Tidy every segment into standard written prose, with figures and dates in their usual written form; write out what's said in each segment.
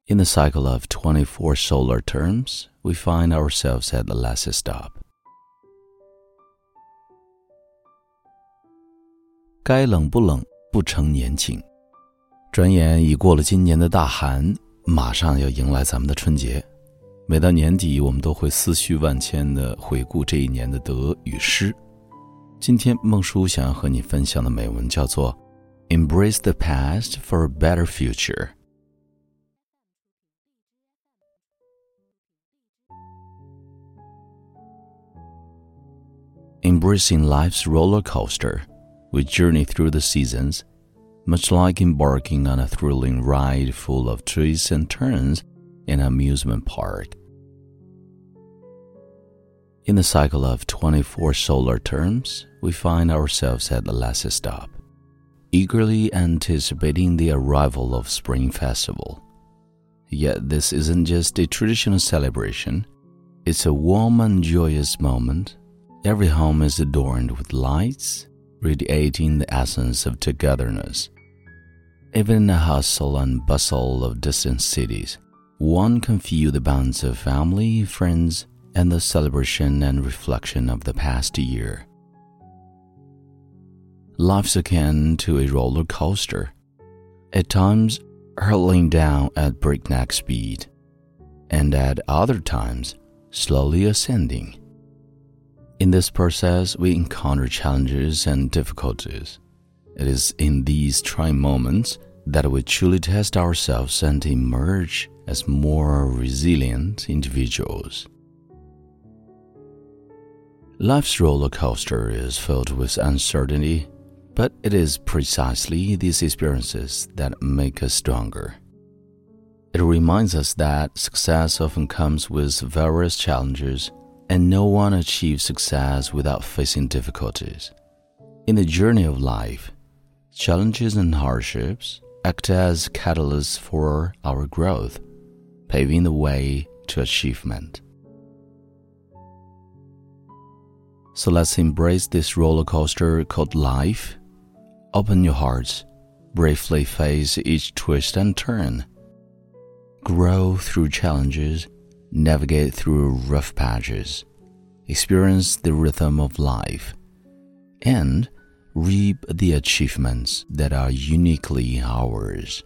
In the cycle of 24 solar terms, we find ourselves at the last stop. 该冷不冷不成年轻。转眼已过了今年的大寒，马上要迎来咱们的春节。每到年底，我们都会思绪万千地回顾这一年的得与失。今天孟叔想要和你分享的美文叫做 Embrace the past for a better future。Embracing life's roller coaster, we journey through the seasons, much like embarking on a thrilling ride full of twists and turns in an amusement park. In the cycle of 24 solar terms, we find ourselves at the last stop, eagerly anticipating the arrival of Spring Festival. Yet this isn't just a traditional celebration, it's a warm and joyous moment.Every home is adorned with lights, radiating the essence of togetherness. Even in the hustle and bustle of distant cities, one can feel the bonds of family, friends, and the celebration and reflection of the past year. Life's akin to a roller coaster, at times hurtling down at breakneck speed, and at other times slowly ascending.In this process, we encounter challenges and difficulties. It is in these trying moments that we truly test ourselves and emerge as more resilient individuals. Life's roller coaster is filled with uncertainty, but it is precisely these experiences that make us stronger. It reminds us that success often comes with various challenges,And no one achieves success without facing difficulties. In the journey of life, challenges and hardships act as catalysts for our growth, paving the way to achievement. So let's embrace this roller coaster called life. Open your hearts, bravely face each twist and turn. Grow through challenges.Navigate through rough patches, experience the rhythm of life, and reap the achievements that are uniquely ours.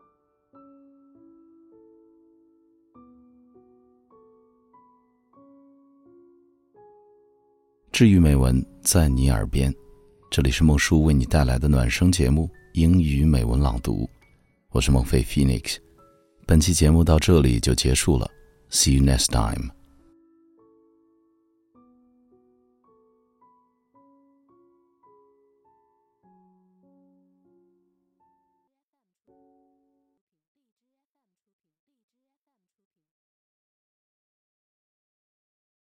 治愈美文在你耳边，这里是孟叔为你带来的暖声节目英语美文朗读，我是孟非 Phoenix。本期节目到这里就结束了。See you next time.